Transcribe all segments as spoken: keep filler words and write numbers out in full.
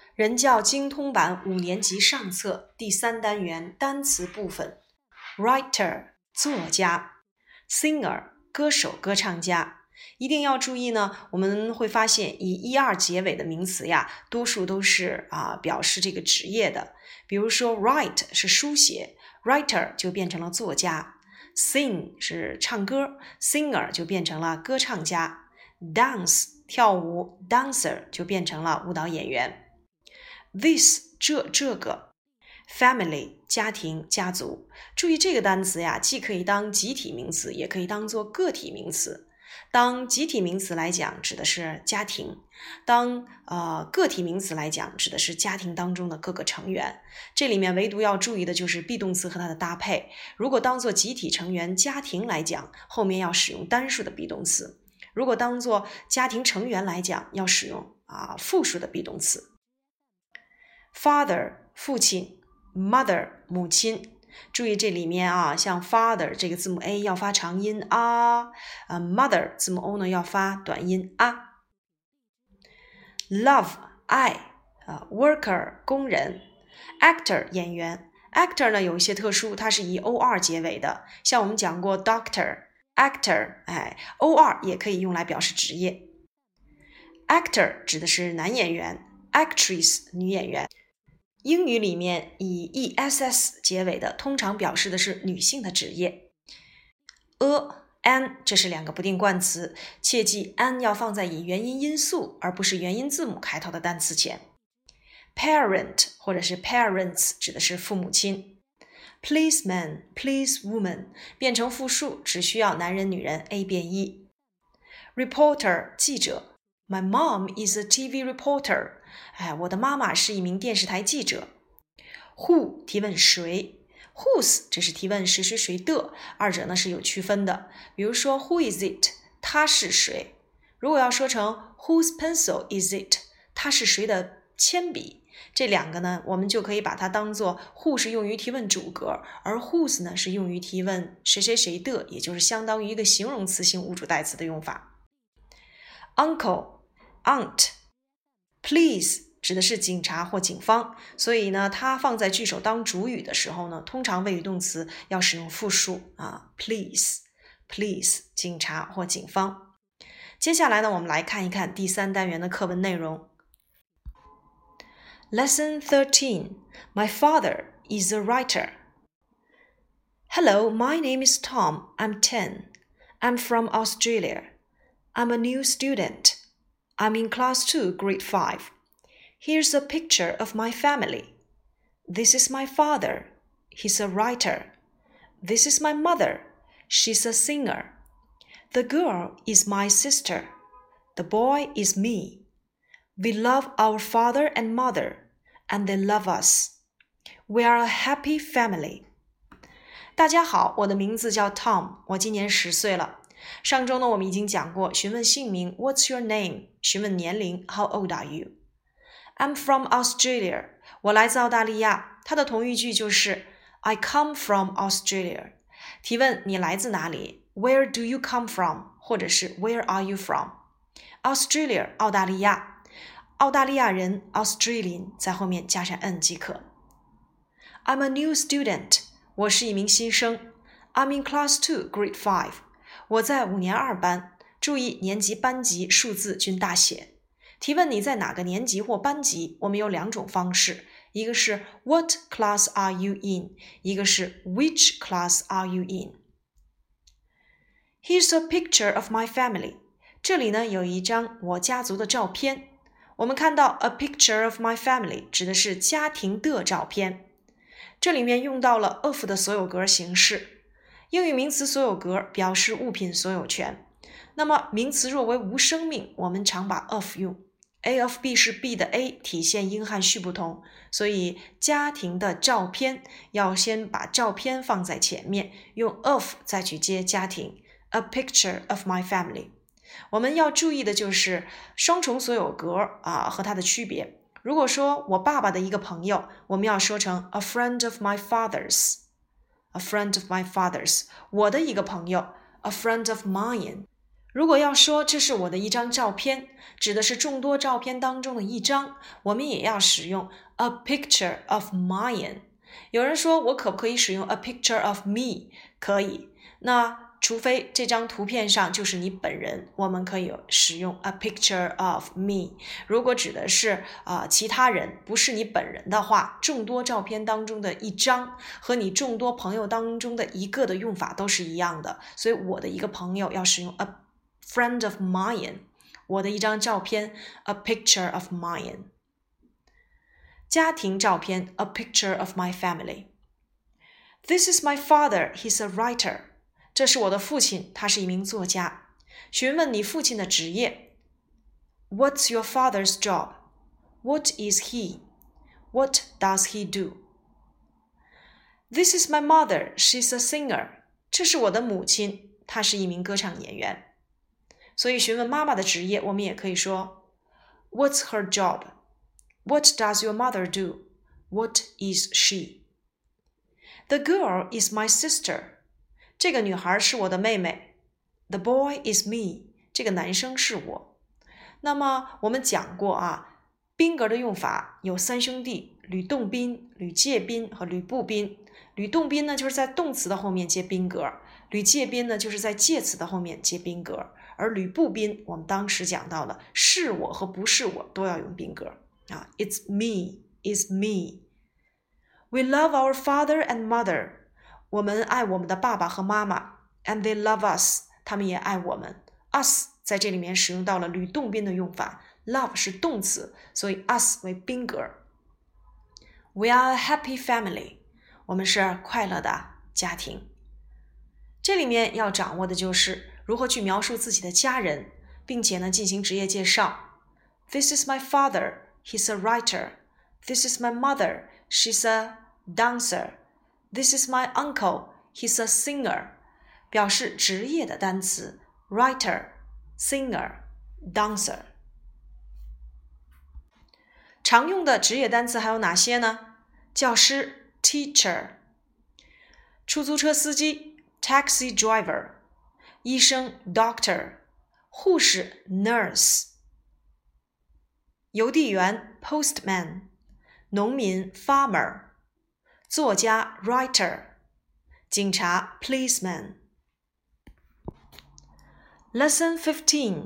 人教精通版五年级上册第三单元单词部分 Writer 作家 Singer 歌手歌唱家。一定要注意呢，我们会发现以 er 结尾的名词呀，多数都是啊表示这个职业的。比如说 write 是书写， writer 就变成了作家， sing 是唱歌， singer 就变成了歌唱家， dance 跳舞， dancer 就变成了舞蹈演员。This 这这个 family 家庭家族，注意这个单词呀，既可以当集体名词，也可以当做个体名词。当集体名词来讲，指的是家庭；当呃个体名词来讲，指的是家庭当中的各个成员。这里面唯独要注意的就是 be 动词和它的搭配。如果当做集体成员家庭来讲，后面要使用单数的 be 动词；如果当做家庭成员来讲，要使用啊复数的 be 动词。Father 父亲， Mother 母亲。注意这里面啊，像 father 这个字母 A 要发长音啊，呃 mother 字母 O 呢要发短音啊。Love 爱，呃 worker 工人， actor 演员。actor 呢有一些特殊，它是以 or 结尾的，像我们讲过 doctor actor， 哎 or 也可以用来表示职业。Actor 指的是男演员， actress 女演员。英语里面以 ess 结尾的通常表示的是女性的职业。a an 这是两个不定冠词，切记 an 要放在以元音因素而不是元音字母开头的单词前。Parent 或者是 parents 指的是父母亲。Policeman policewoman 变成复数只需要男人女人 A 变一。Reporter 记者， My mom is a T V reporter， 哎，我的妈妈是一名电视台记者。Who 提问谁， Whose 这是提问谁谁谁的，二者呢是有区分的。比如说 Who is it， 他是谁。如果要说成 Whose pencil is it， 他是谁的铅笔，这两个呢我们就可以把它当做 Who 是用于提问主格，而 Whose 呢是用于提问谁谁谁的，也就是相当于一个形容词性物主代词的用法。Uncle Aunt Police 指的是警察或警方，所以呢它放在句首当主语的时候呢，通常谓语动词要使用复数啊 Police Police 警察或警方。接下来呢我们来看一看第三单元的课文内容。 Lesson thirteen My father is a writer. Hello, my name is Tom. I'm ten. I'm from Australia. I'm a new student. I'm in class two, grade five. Here's a picture of my family. This is my father. He's a writer. This is my mother. She's a singer. The girl is my sister. The boy is me. We love our father and mother, and they love us. We are a happy family. 大家好，我的名字叫 Tom， 我今年十岁了。上周呢我们已经讲过询问姓名 What's your name， 询问年龄 How old are you。 I'm from Australia， 我来自澳大利亚。它的同义句就是 I come from Australia。 提问你来自哪里 Where do you come from， 或者是 Where are you from。 Australia 澳大利亚，澳大利亚人 Australian 在后面加上 n 即可。 I'm a new student， 我是一名新生。 I'm in class two, grade five，我在五年二班，注意年级班级数字均大写。提问你在哪个年级或班级，我们有两种方式，一个是 What class are you in， 一个是 Which class are you in。 Here's a picture of my family， 这里呢有一张我家族的照片。我们看到 a picture of my family 指的是家庭的照片，这里面用到了 of 的所有格形式。英语名词所有格表示物品所有权，那么名词若为无生命，我们常把 of 用。 A of B 是 B 的 A， 体现英汉序不同，所以家庭的照片要先把照片放在前面，用 of 再去接家庭。 A picture of my family。 我们要注意的就是双重所有格啊和它的区别。如果说我爸爸的一个朋友，我们要说成 a friend of my father's。A friend of my father's， 我的一个朋友 A friend of mine。 如果要说这是我的一张照片，指的是众多照片当中的一张，我们也要使用 a picture of mine。 有人说我可不可以使用 a picture of me？ 可以，那除非这张图片上就是你本人，我们可以使用 a picture of me。 如果指的是、呃、其他人，不是你本人的话，众多照片当中的一张和你众多朋友当中的一个的用法都是一样的，所以我的一个朋友要使用 a friend of mine， 我的一张照片 a picture of mine。 家庭照片 a picture of my family。 This is my father, he's a writer。 这是我的父亲，他是一名作家。询问你父亲的职业。 What's your father's job? What is he? What does he do? This is my mother, she's a singer。 这是我的母亲，她是一名歌唱演员。所以询问妈妈的职业，我们也可以说 What's her job? What does your mother do? What is she? The girl is my sister。 这个女孩是我的妹妹。 The boy is me。 这个男生是我。那么我们讲过啊，宾格的用法有三兄弟，吕洞宾、吕介宾和吕布宾。吕洞宾呢，就是在动词的后面接宾格，吕介宾呢，就是在介词的后面接宾格，而吕布宾我们当时讲到了是我和不是我都要用宾格啊 It's me, is me。 We love our father and mother。 我们爱我们的爸爸和妈妈 and they love us， 他们也爱我们。 us 在这里面使用到了吕洞宾的用法， love 是动词，所以 us 为宾格。 We are a happy family。 我们是快乐的家庭。这里面要掌握的就是如何去描述自己的家人，并且呢进行职业介绍。 This is my father, he's a writer。 This is my mother, she's a dancer。 This is my uncle, he's a singer。 表示职业的单词 writer, singer, dancer。 常用的职业单词还有哪些呢？教师 teacher， 出租车司机 taxi driver， 医生 doctor， 护士 nurse， 邮递员 postman， 农民 farmer， 作家 writer， 警察 policeman。 Lesson fifteen.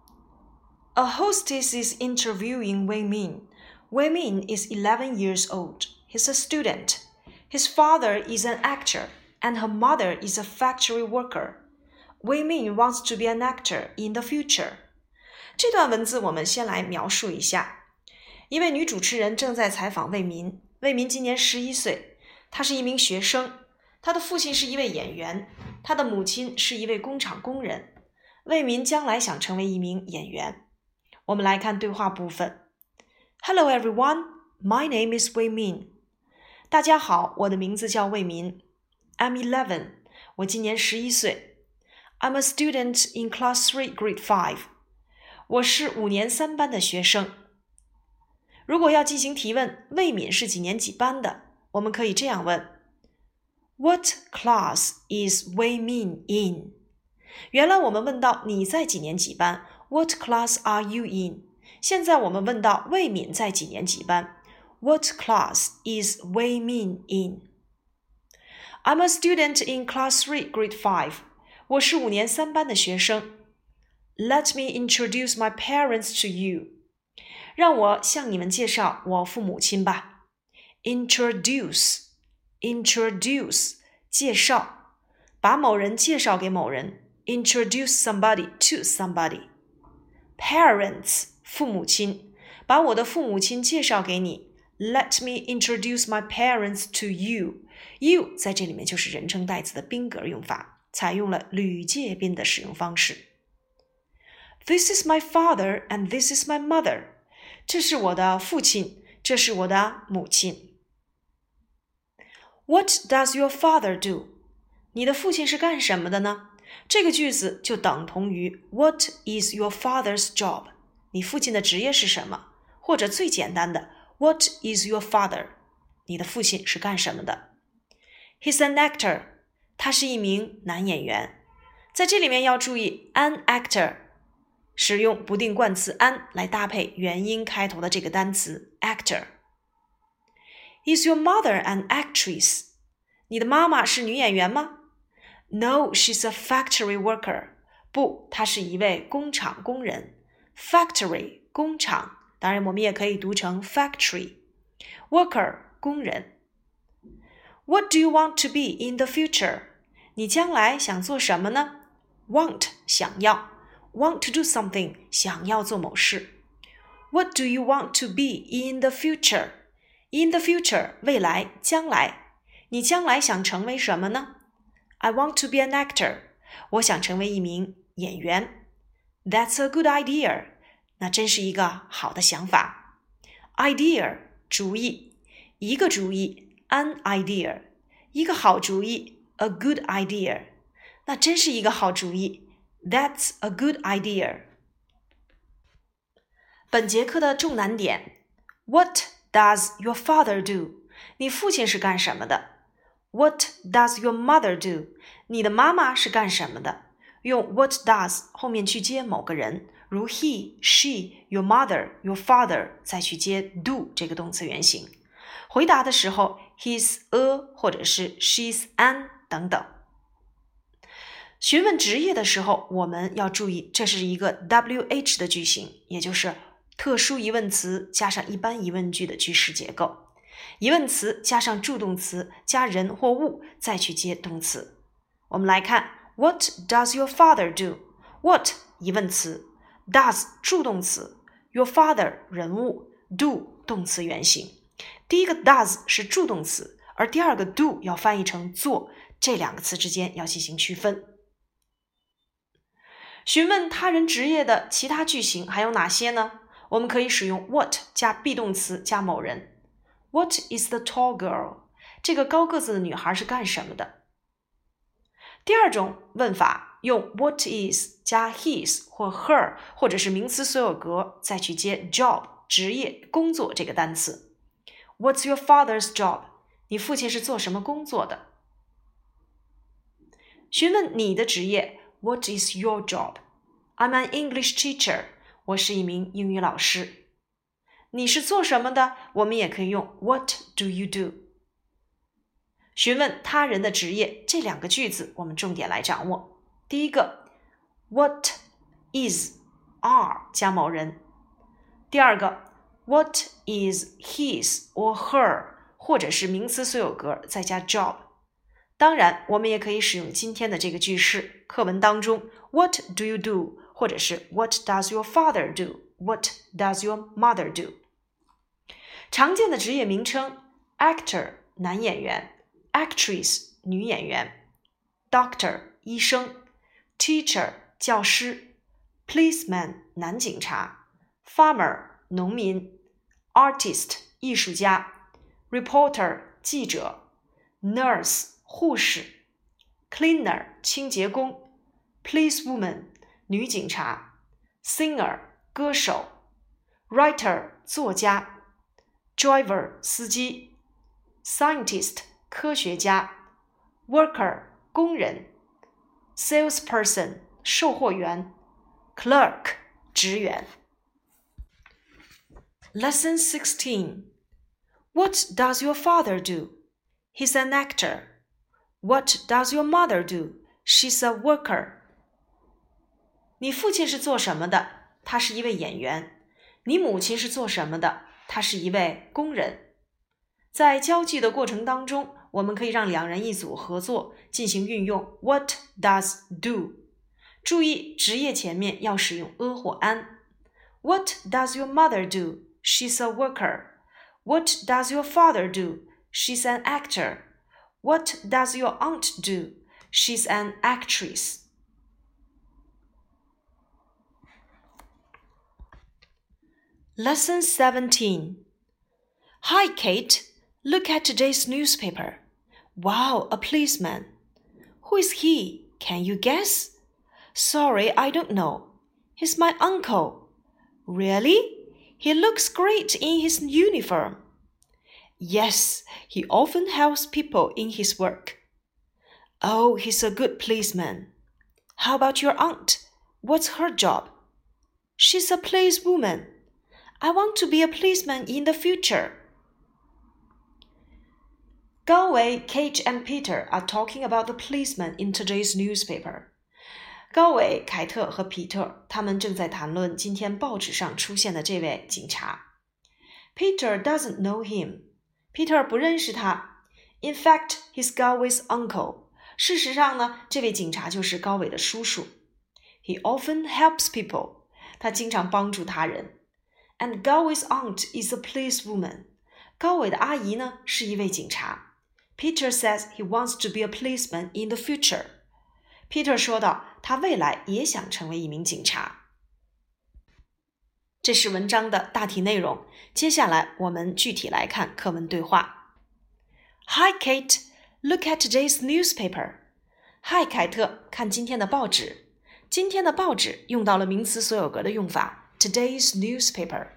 A hostess is interviewing Wei Min. Wei Min is eleven years old. He's a student. His father is an actor, and her mother is a factory worker. Wei Min wants to be an actor in the future. 这段文字我们先来描述一下。一位女主持人正在采访魏民。魏民今年十一岁，他是一名学生。他的父亲是一位演员，他的母亲是一位工厂工人。魏民将来想成为一名演员。我们来看对话部分。Hello everyone, my name is Wei Min. 大家好，我的名字叫魏民。I'm eleven. 我今年十一岁。I'm a student in class three, grade five. 我是五年三班的学生。如果要进行提问，魏敏是几年几班的？我们可以这样问 What class is Wei Min in? 原来我们问到你在几年几班 What class are you in? 现在我们问到魏敏在几年几班 What class is Wei Min in? I'm a student in class three, grade five. 我是五年三班的学生。Let me introduce my parents to you. 让我向你们介绍我父母亲吧。Introduce, introduce, 介绍，把某人介绍给某人。Introduce somebody to somebody. Parents, 父母亲，把我的父母亲介绍给你。Let me introduce my parents to you. You 在这里面就是人称代词的宾格用法，采用了吕介宾的使用方式。This is my father and this is my mother. 这是我的父亲，这是我的母亲。What does your father do? 你的父亲是干什么的呢？这个句子就等同于 What is your father's job? 你父亲的职业是什么？或者最简单的 What is your father? 你的父亲是干什么的？ He's an actor. 他是一名男演员。 在这里面要注意 an actor， 使用不定冠词 an 来搭配元音开头的这个单词 actor。Is your mother an actress？ 你的妈妈是女演员吗？ No, she's a factory worker。 不，她是一位工厂工人。 Factory 工厂，当然我们也可以读成 factory。 Worker 工人。 What do you want to be in the future？ 你将来想做什么呢？ Want 想要， Want to do something 想要做某事。 What do you want to be in the future？ In the future 未来将来，你将来想成为什么呢？ I want to be an actor， 我想成为一名演员。 That's a good idea， 那真是一个好的想法。 Idea 主意，一个主意 an idea， 一个好主意 a good idea， 那真是一个好主意 That's a good idea。 本节课的重难点 What does your father do？ 你父亲是干什么的？ What does your mother do？ 你的妈妈是干什么的？用 what does 后面去接某个人，如 he, she, your mother, your father， 再去接 do 这个动词原形。回答的时候 he's a 或者是 she's an 等等。询问职业的时候，我们要注意这是一个 W H 的句型，也就是特殊疑问词加上一般疑问句的句式结构。疑问词加上助动词加人或物，再去接动词。我们来看 What does your father do？ What 疑问词， does 助动词， your father 人物， do 动词原形。第一个 does 是助动词，而第二个 do 要翻译成做，这两个词之间要进行区分。询问他人职业的其他句型还有哪些呢？我们可以使用 what 加 be 动词加某人。 What is the tall girl？ 这个高个子的女孩是干什么的？第二种问法用 what is 加 his 或 her 或者是名词所有格再去接 job 职业工作这个单词。 What's your father's job？ 你父亲是做什么工作的？询问你的职业 What is your job？ I'm an English teacher， 我是一名英语老师。你是做什么的？我们也可以用 What do you do？ 询问他人的职业，这两个句子我们重点来掌握。第一个 What is are 加某人。第二个 What is his or her 或者是名词所有格再加 job。 当然我们也可以使用今天的这个句式，课文当中 What do you do 或者是 What does your father do？ What does your mother do？ 常见的职业名称 Actor 男演员， Actress 女演员， Doctor 医生， Teacher 教师， Policeman 男警察， Farmer 农民， Artist 艺术家， Reporter 记者， Nurse 护士， Cleaner 清洁工， Policewoman 女警察， Singer 歌手， Writer 作家， Driver 司机， Scientist 科学家， Worker 工人， Salesperson 售货员， Clerk 职员。 Lesson sixteen. What does your father do? He's an actor. What does your mother do? She's a worker. 你父亲是做什么的？他是一位演员。你母亲是做什么的？她是一位工人。在交际的过程当中，我们可以让两人一组合作，进行运用 What does do？ 注意职业前面要使用 a 或 an。 What does your mother do? She's a worker. What does your father do? She's an actor. What does your aunt do? She's an actress. Lesson seventeen. Hi, Kate. Look at today's newspaper. Wow, a policeman. Who is he? Can you guess? Sorry, I don't know. He's my uncle. Really? He looks great in his uniform. Yes, he often helps people in his work. Oh, he's a good policeman. How about your aunt? What's her job? She's a policewoman. I want to be a policeman in the future. 高维 Kate and Peter are talking about the policeman in today's newspaper. 高维、凯特和皮特他们正在谈论今天报纸上出现的这位警察。Peter doesn't know him. Peter 不认识他。In fact, he's Galway's uncle. 事实上呢，这位警察就是高伟的叔叔。He often helps people. 他经常帮助他人。And Galway's aunt is a policewoman. 高伟的阿姨呢，是一位警察。Peter says he wants to be a policeman in the future. Peter 说道，他未来也想成为一名警察。这是文章的大体内容。接下来我们具体来看课文对话。Hi, Kate. Look at today's newspaper. Hi, 凯特，看今天的报纸。今天的报纸用到了名词所有格的用法。Today's newspaper.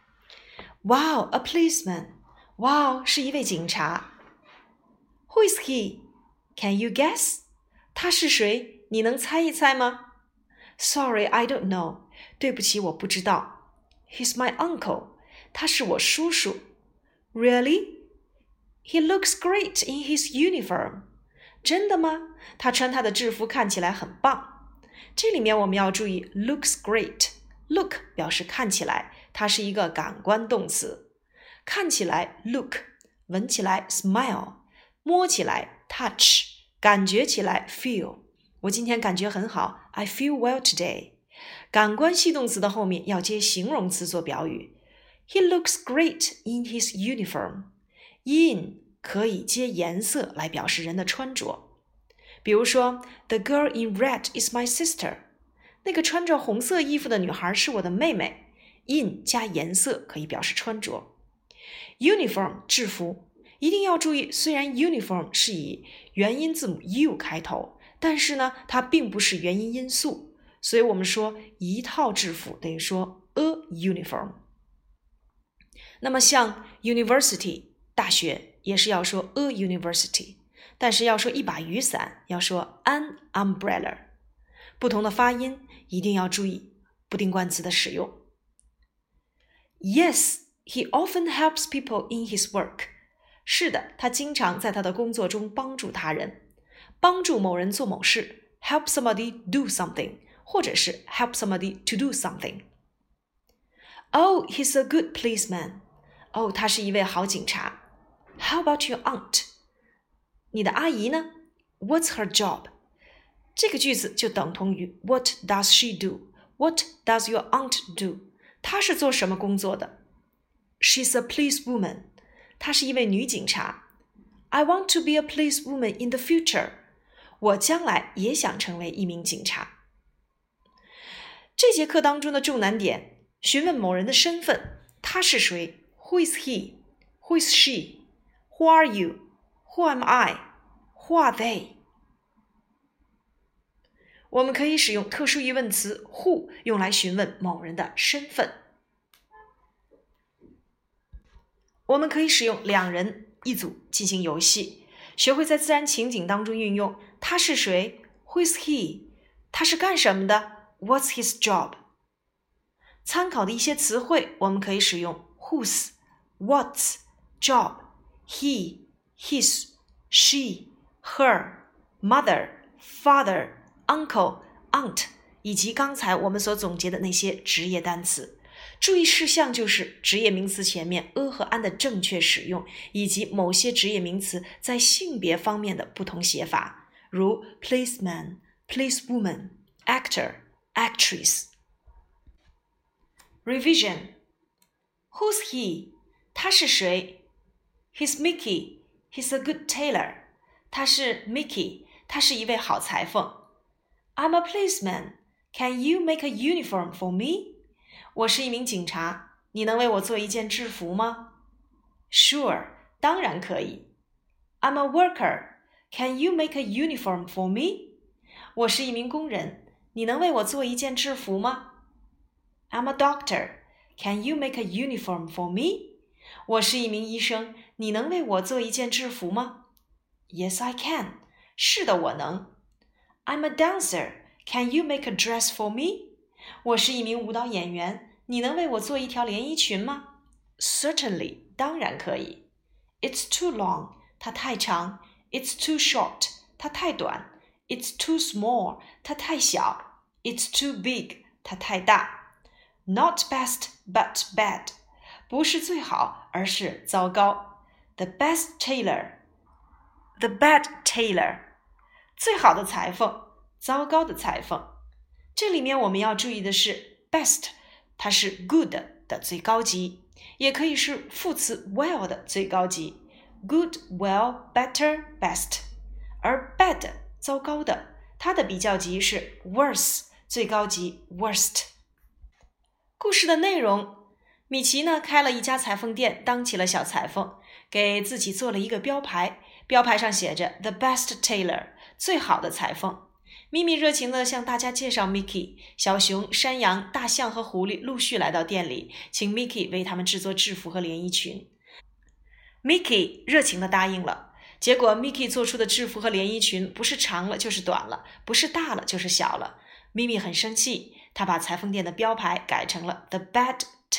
Wow, a policeman. Wow, 是一位警察。Who is he? Can you guess? 他是谁？你能猜一猜吗？ Sorry, I don't know. 对不起，我不知道。He's my uncle. 他是我叔叔。Really? He looks great in his uniform. 真的吗？他穿他的制服看起来很棒。这里面我们要注意 looks great。Look 表示看起来，它是一个感官动词。看起来 look， 闻起来 smell， 摸起来 touch， 感觉起来 feel。我今天感觉很好 I feel well today。 感官系动词的后面要接形容词做表语。He looks great in his uniform。 in 可以接颜色来表示人的穿着。比如说 The girl in red is my sister。那个穿着红色衣服的女孩是我的妹妹。in 加颜色可以表示穿着。Uniform 制服，一定要注意，虽然 uniform 是以元音字母 u 开头，但是呢，它并不是元音因素，所以我们说一套制服等于说 a uniform。那么像 university 大学也是要说 a university， 但是要说一把雨伞要说 an umbrella。不同的发音一定要注意不定冠词的使用。Yes, he often helps people in his work. 是的，他经常在他的工作中帮助他人。帮助某人做某事 help somebody do something， 或者是 help somebody to do something. Oh, he's a good policeman. 哦，他是一位好警察。How about your aunt? 你的阿姨呢？ What's her job?这个句子就等同于 What does she do? What does your aunt do? 她是做什么工作的？ She's a policewoman. 她是一位女警察。I want to be a policewoman in the future. 我将来也想成为一名警察。这节课当中的重难点，询问某人的身份，他是谁？ Who is he? Who is she? Who are you? Who am I? Who are they?我们可以使用特殊疑问词 who 用来询问某人的身份。我们可以使用两人一组进行游戏，学会在自然情景当中运用他是谁 Who is he? 他是干什么的 What's his job? 参考的一些词汇我们可以使用 whose, what's, job, he, his, she, her, mother, father,Uncle, aunt 以及刚才我们所总结的那些职业单词。注意事项就是职业名词前面 a 和 an 的正确使用，以及某些职业名词在性别方面的不同写法，如 policeman, policewoman, actor, actress. Revision. Who's he? 他是谁？ He's Mickey. He's a good tailor. 他是 Mickey. 他是一位好裁缝。I'm a policeman. Can you make a uniform for me? 我是一名警察，你能为我做一件制服吗？ Sure, 当然可以。I'm a worker. Can you make a uniform for me? 我是一名工人，你能为我做一件制服吗？ I'm a doctor. Can you make a uniform for me? 我是一名医生，你能为我做一件制服吗？ Yes, I can. 是的，我能。I'm a dancer. Can you make a dress for me? 我是一名舞蹈演员，你能为我做一条连衣裙吗？ Certainly, 当然可以。It's too long, 它太长。It's too short, 它太短。It's too small, 它太小。It's too big, 它太大。Not best, but bad, 不是最好，而是糟糕。The best tailor, the bad tailor, 最好的裁缝，糟糕的裁缝。这里面我们要注意的是 best， 它是 good 的最高级，也可以是副词 well 的最高级。Good, well, better, best. 而 bad 糟糕的，它的比较级是 worse 最高级 worst。 故事的内容，米奇呢开了一家裁缝店，当起了小裁缝，给自己做了一个标牌，标牌上写着 The best tailor 最好的裁缝。咪咪热情地向大家介绍 Mickey， 小熊、山羊、大象和狐狸陆续来到店里，请 Mickey 为他们制作制服和连衣裙。Mickey 热情地答应了，结果 Mickey 做出的制服和连衣裙不是长了就是短了，不是大了就是小了。咪咪很生气，他把裁缝店的标牌改成了 The Bad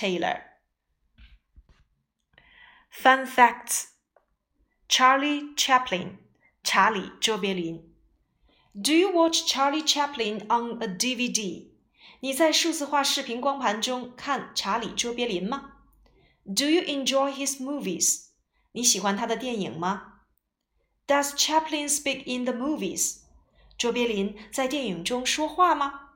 Tailor。Fun facts: Charlie Chaplin, 查理·卓别林。Do you watch Charlie Chaplin on a D V D? 你在数字化视频光盘中看查理·卓别林吗？ Do you enjoy his movies? 你喜欢他的电影吗？ Does Chaplin speak in the movies? 卓别林在电影中说话吗？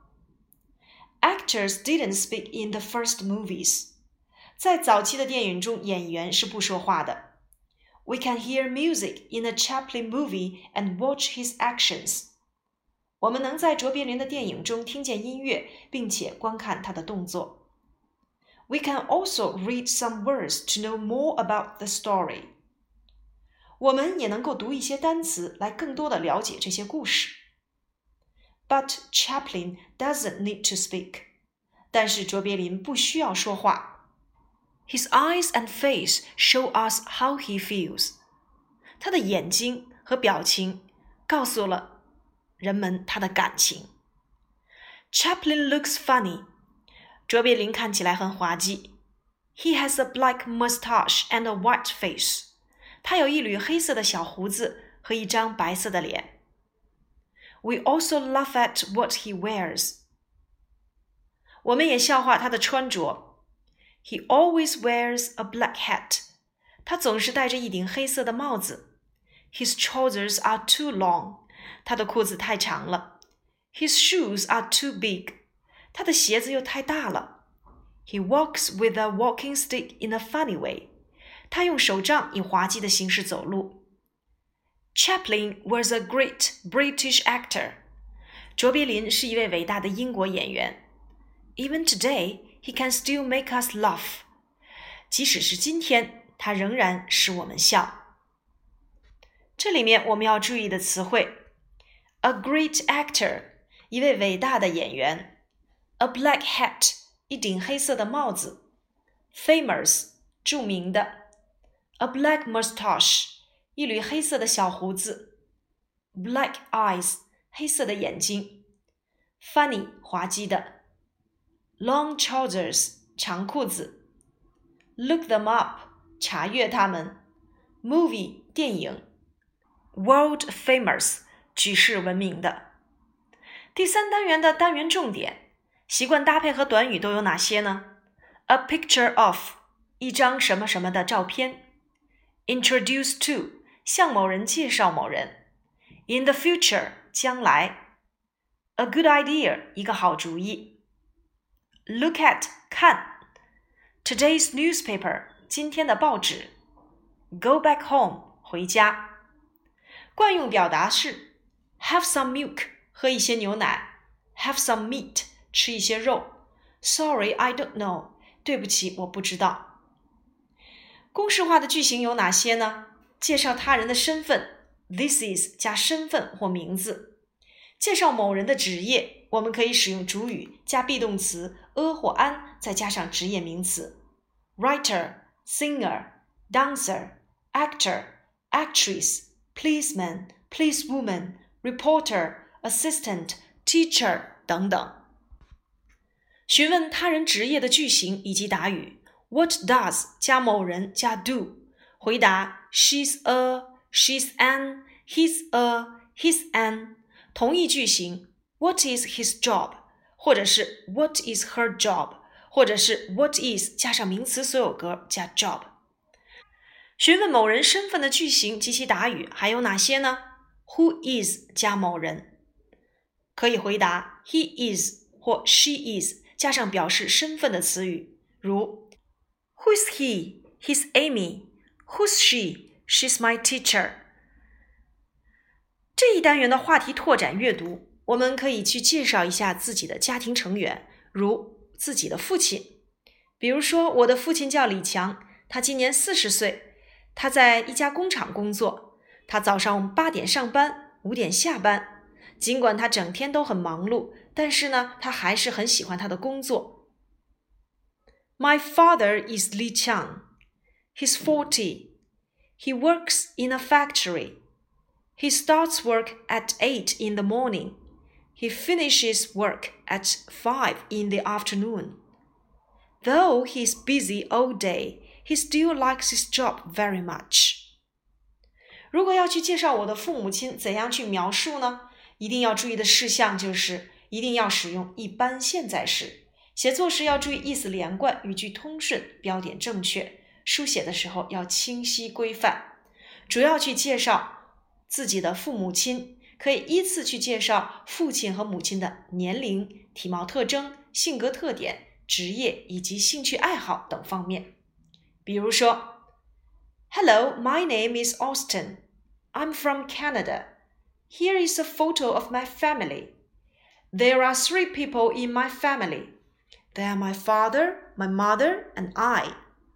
Actors didn't speak in the first movies. 在早期的电影中，演员是不说话的。We can hear music in a Chaplin movie and watch his actions. 我们能在卓别林的电影中听见音乐，并且观看他的动作。We can also read some words to know more about the story. 我们也能够读一些单词来更多地了解这些故事。But Chaplin doesn't need to speak. 但是卓别林不需要说话。His eyes and face show us how he feels. 他的眼睛和表情告诉了人们他的感情。Chaplin looks funny. 卓别林看起来很滑稽。He has a black mustache and a white face. 他有一缕黑色的小胡子和一张白色的脸。We also laugh at what he wears. 我们也笑话他的穿着。He always wears a black hat. 他总是戴着一顶黑色的帽子。His trousers are too long. 他的裤子太长了。His shoes are too big. 他的鞋子又太大了。He walks with a walking stick in a funny way. 他用手杖以滑稽的形式走路。Chaplin was a great British actor. 卓别林是一位伟大的英国演员。Even today, he can still make us laugh. 即使是今天，他仍然使我们笑。这里面我们要注意的词汇 A great actor, 一位伟大的演员。A black hat, 一顶黑色的帽子。Famous, 著名的。A black mustache, 一缕黑色的小胡子。Black eyes, 黑色的眼睛。Funny, 滑稽的。Long trousers, 长裤子。Look them up, 查阅它们。Movie, 电影。World famous, 举世闻名的。第三单元的单元重点，习惯搭配和短语都有哪些呢？ A picture of, 一张什么什么的照片。Introduce to, 向某人介绍某人。In the future, 将来。A good idea, 一个好主意。Look at, 看。Today's newspaper, 今天的报纸。Go back home, 回家。惯用表达是 Have some milk, 喝一些牛奶。Have some meat, 吃一些肉。Sorry, I don't know, 对不起，我不知道。公式化的句型有哪些呢？介绍他人的身份 This is 加身份或名字。介绍某人的职业，我们可以使用主语加 be 动词 a 或 an 再加上职业名词 Writer, singer, dancer, actor, actress, policeman, policewoman, reporter, assistant, teacher 等等。询问他人职业的句型以及答语 What does 加某人加 do， 回答 She's a, she's an, he's a, he's an。 同义句型 What is his job， 或者是 What is her job， 或者是 What is 加上名词所有格加 job。 询问某人身份的句型及其答语还有哪些呢？ Who is 加某人，可以回答 He is 或 She is 加上表示身份的词语，如 Who's he? He's Amy. Who's she? She's my teacher。 这一单元的话题拓展阅读，我们可以去介绍一下自己的家庭成员，如自己的父亲。比如说，我的父亲叫李强，他今年四十岁，他在一家工厂工作，他早上八点上班，五点下班。尽管他整天都很忙碌，但是呢，他还是很喜欢他的工作。My father is Li Qiang. He's forty. He works in a factory. He starts work at eight in the morning. He finishes work at five in the afternoon. Though he's busy all day, he still likes his job very much. 如果要去介绍我的父母亲，怎样去描述呢？一定要注意的事项就是一定要使用一般现在时，写作时要注意意思连贯，语句通顺，标点正确，书写的时候要清晰规范。主要去介绍自己的父母亲，可以依次去介绍父亲和母亲的年龄、体貌特征、性格特点、职业以及兴趣爱好等方面。比如说 Hello, my name is Austin. I'm from Canada. Here is a photo of my family. There are three people in my family. They are my father, my mother, and I.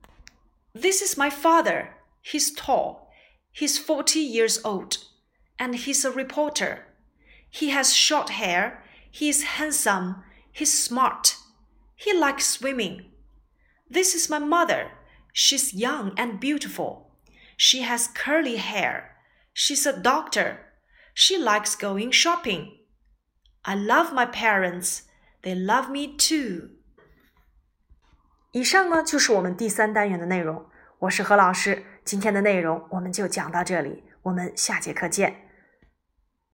This is my father. He's tall. He's forty years old. And he's a reporter. He has short hair. He's handsome. He's smart. He likes swimming. This is my mother. She's young and beautiful. She has curly hair. She's a doctor.She likes going shopping. I love my parents. They love me too. 以上呢就是我们第三单元的内容。我是何老师，今天的内容我们就讲到这里，我们下节课见。